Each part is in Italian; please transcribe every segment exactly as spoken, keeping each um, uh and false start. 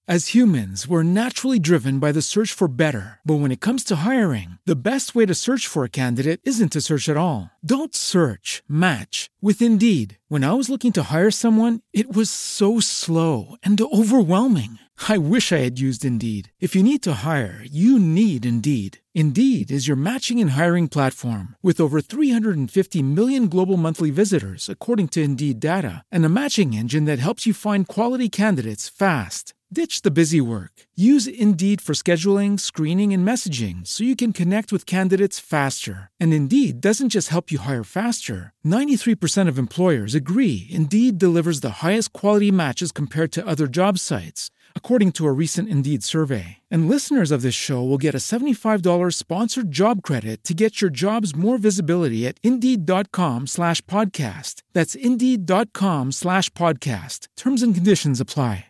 As humans, we're naturally driven by the search for better. But when it comes to hiring, the best way to search for a candidate isn't to search at all. Don't search, match with Indeed. When I was looking to hire someone, it was so slow and overwhelming. I wish I had used Indeed. If you need to hire, you need Indeed. Indeed is your matching and hiring platform with over three hundred fifty million global monthly visitors, according to Indeed data, and a matching engine that helps you find quality candidates fast. Ditch the busy work. Use Indeed for scheduling, screening, and messaging so you can connect with candidates faster. And Indeed doesn't just help you hire faster. ninety-three percent of employers agree Indeed delivers the highest quality matches compared to other job sites, according to a recent Indeed survey. And listeners of this show will get a seventy-five dollars sponsored job credit to get your jobs more visibility at Indeed.com slash podcast. That's Indeed.com slash podcast. Terms and conditions apply.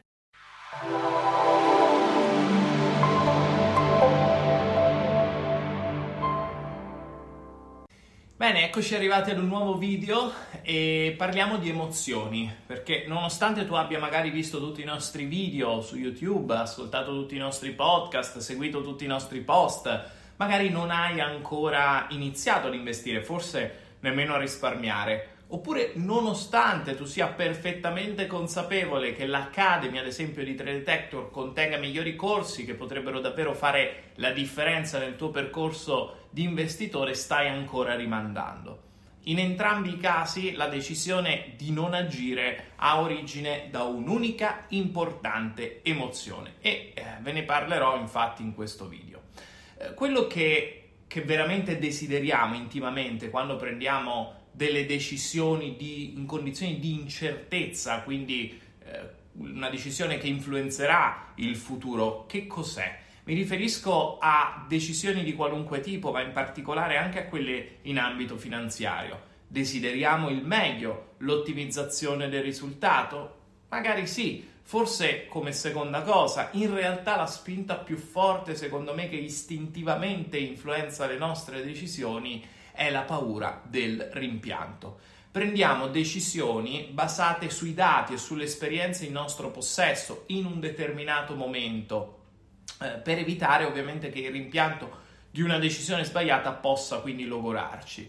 Bene, eccoci arrivati ad un nuovo video e parliamo di emozioni, perché nonostante tu abbia magari visto tutti i nostri video su YouTube, ascoltato tutti i nostri podcast, seguito tutti i nostri post, magari non hai ancora iniziato ad investire, forse nemmeno a risparmiare. Oppure nonostante tu sia perfettamente consapevole che l'Academy, ad esempio di Trade Detector, contenga migliori corsi che potrebbero davvero fare la differenza nel tuo percorso di investitore, stai ancora rimandando. In entrambi i casi la decisione di non agire ha origine da un'unica importante emozione e eh, ve ne parlerò infatti in questo video. Eh, quello che, che veramente desideriamo intimamente quando prendiamo delle decisioni di, in condizioni di incertezza, quindi eh, una decisione che influenzerà il futuro, che cos'è? Mi riferisco a decisioni di qualunque tipo, ma in particolare anche a quelle in ambito finanziario. Desideriamo il meglio, l'ottimizzazione del risultato? Magari sì, forse come seconda cosa. In realtà la spinta più forte, secondo me, che istintivamente influenza le nostre decisioni è la paura del rimpianto. Prendiamo decisioni basate sui dati e sulle esperienze in nostro possesso in un determinato momento, eh, per evitare ovviamente che il rimpianto di una decisione sbagliata possa quindi logorarci.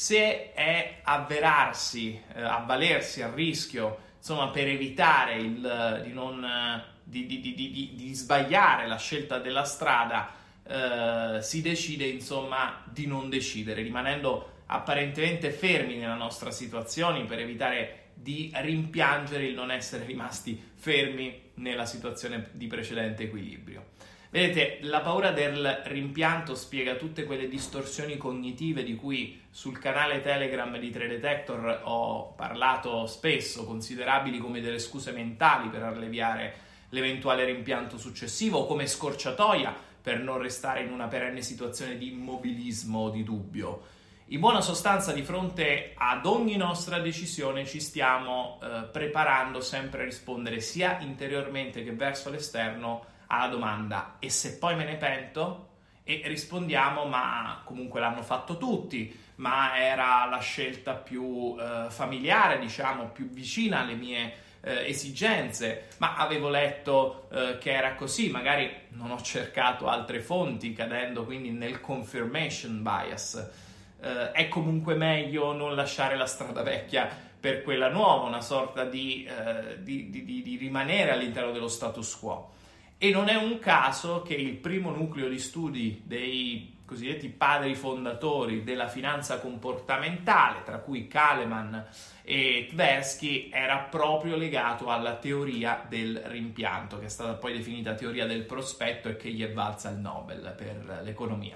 Se è avverarsi, eh, avvalersi al rischio, insomma, per evitare il, di, non, di, di, di, di, di sbagliare la scelta della strada, Uh, si decide insomma di non decidere, rimanendo apparentemente fermi nella nostra situazione per evitare di rimpiangere il non essere rimasti fermi nella situazione di precedente equilibrio. Vedete, la paura del rimpianto spiega tutte quelle distorsioni cognitive di cui sul canale Telegram di Trade Detector ho parlato spesso, considerabili come delle scuse mentali per alleviare l'eventuale rimpianto successivo o come scorciatoia per non restare in una perenne situazione di immobilismo o di dubbio. In buona sostanza, di fronte ad ogni nostra decisione ci stiamo eh, preparando sempre a rispondere sia interiormente che verso l'esterno alla domanda: e se poi me ne pento? E rispondiamo: ma comunque l'hanno fatto tutti, ma era la scelta più eh, familiare, diciamo, più vicina alle mie Eh, esigenze, ma avevo letto eh, che era così, magari non ho cercato altre fonti, cadendo quindi nel confirmation bias. Eh, è comunque meglio non lasciare la strada vecchia per quella nuova, una sorta di, eh, di, di, di, di rimanere all'interno dello status quo. E non è un caso che il primo nucleo di studi dei cosiddetti padri fondatori della finanza comportamentale, tra cui Kahneman e Tversky, era proprio legato alla teoria del rimpianto, che è stata poi definita teoria del prospetto e che gli è valsa il Nobel per l'economia.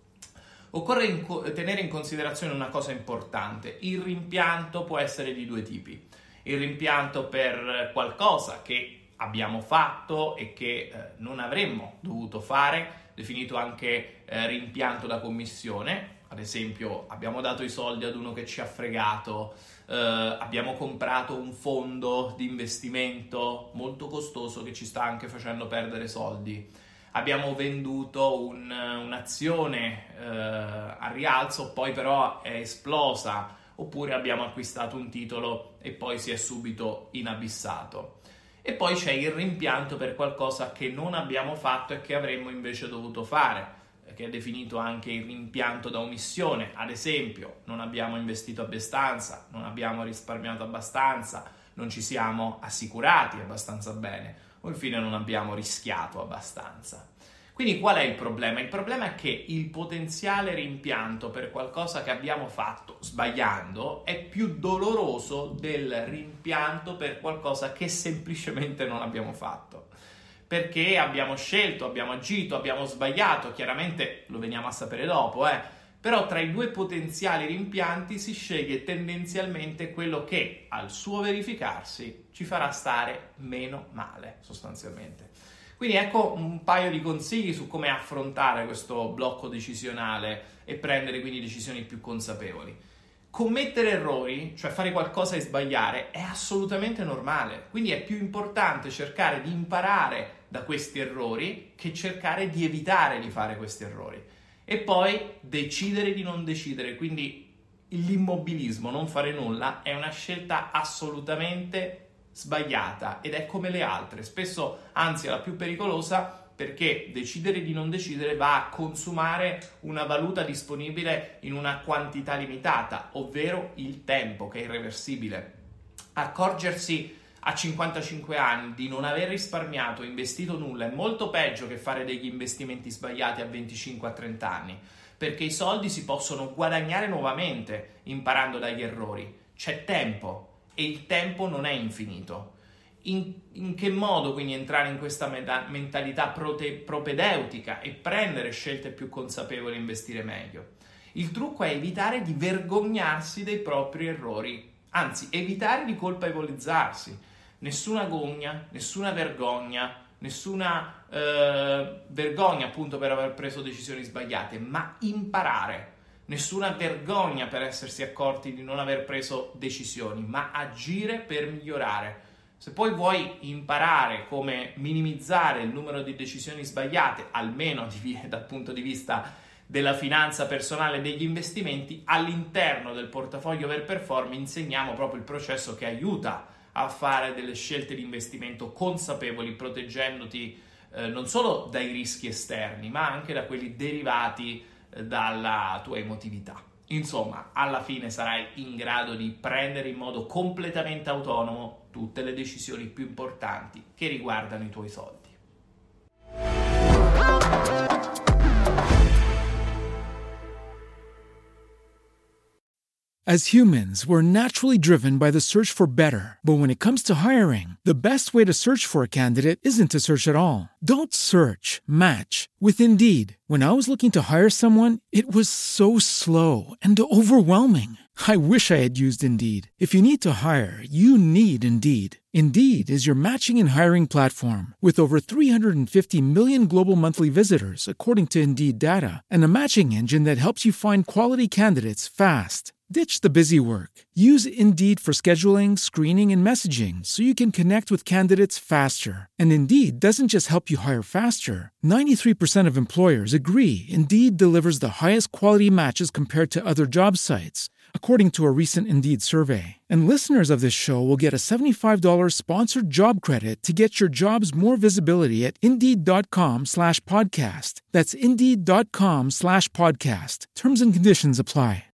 Occorre in co- tenere in considerazione una cosa importante: il rimpianto può essere di due tipi. Il rimpianto per qualcosa che abbiamo fatto e che eh, non avremmo dovuto fare, definito anche eh, rimpianto da commissione. Ad esempio, abbiamo dato i soldi ad uno che ci ha fregato, eh, abbiamo comprato un fondo di investimento molto costoso che ci sta anche facendo perdere soldi, abbiamo venduto un, un'azione eh, a rialzo, poi però è esplosa, oppure abbiamo acquistato un titolo e poi si è subito inabissato. E poi c'è il rimpianto per qualcosa che non abbiamo fatto e che avremmo invece dovuto fare, che è definito anche il rimpianto da omissione. Ad esempio, non abbiamo investito abbastanza, non abbiamo risparmiato abbastanza, non ci siamo assicurati abbastanza bene, o infine non abbiamo rischiato abbastanza. Quindi qual è il problema? Il problema è che il potenziale rimpianto per qualcosa che abbiamo fatto sbagliando è più doloroso del rimpianto per qualcosa che semplicemente non abbiamo fatto. Perché abbiamo scelto, abbiamo agito, abbiamo sbagliato, chiaramente lo veniamo a sapere dopo, eh. Però tra i due potenziali rimpianti si sceglie tendenzialmente quello che al suo verificarsi ci farà stare meno male, sostanzialmente. Quindi ecco un paio di consigli su come affrontare questo blocco decisionale e prendere quindi decisioni più consapevoli. Commettere errori, cioè fare qualcosa e sbagliare, è assolutamente normale, quindi è più importante cercare di imparare da questi errori che cercare di evitare di fare questi errori. E poi decidere di non decidere, quindi l'immobilismo, non fare nulla, è una scelta assolutamente sbagliata ed è come le altre, spesso anzi è la più pericolosa, perché decidere di non decidere va a consumare una valuta disponibile in una quantità limitata, ovvero il tempo, che è irreversibile. Accorgersi a cinquantacinque anni di non aver risparmiato o investito nulla è molto peggio che fare degli investimenti sbagliati a venticinque a trenta anni, perché i soldi si possono guadagnare nuovamente imparando dagli errori. C'è tempo e il tempo non è infinito. In, in che modo quindi entrare in questa meta, mentalità prote, propedeutica e prendere scelte più consapevoli e investire meglio? Il trucco è evitare di vergognarsi dei propri errori, anzi evitare di colpevolizzarsi. Nessuna gogna, nessuna vergogna, nessuna eh, vergogna appunto per aver preso decisioni sbagliate, ma imparare. Nessuna vergogna per essersi accorti di non aver preso decisioni, ma agire per migliorare. Se poi vuoi imparare come minimizzare il numero di decisioni sbagliate, almeno dal punto di vista della finanza personale e degli investimenti, all'interno del portafoglio Overperform insegniamo proprio il processo che aiuta a fare delle scelte di investimento consapevoli, proteggendoti eh, non solo dai rischi esterni, ma anche da quelli derivati dalla tua emotività. Insomma, alla fine sarai in grado di prendere in modo completamente autonomo tutte le decisioni più importanti che riguardano i tuoi soldi. As humans, we're naturally driven by the search for better. But when it comes to hiring, the best way to search for a candidate isn't to search at all. Don't search, match with Indeed. When I was looking to hire someone, it was so slow and overwhelming. I wish I had used Indeed. If you need to hire, you need Indeed. Indeed is your matching and hiring platform with over three hundred fifty million global monthly visitors, according to Indeed data, and a matching engine that helps you find quality candidates fast. Ditch the busy work. Use Indeed for scheduling, screening, and messaging so you can connect with candidates faster. And Indeed doesn't just help you hire faster. ninety-three percent of employers agree Indeed delivers the highest quality matches compared to other job sites, according to a recent Indeed survey. And listeners of this show will get a seventy-five dollars sponsored job credit to get your jobs more visibility at Indeed.com slash podcast. That's Indeed.com slash podcast. Terms and conditions apply.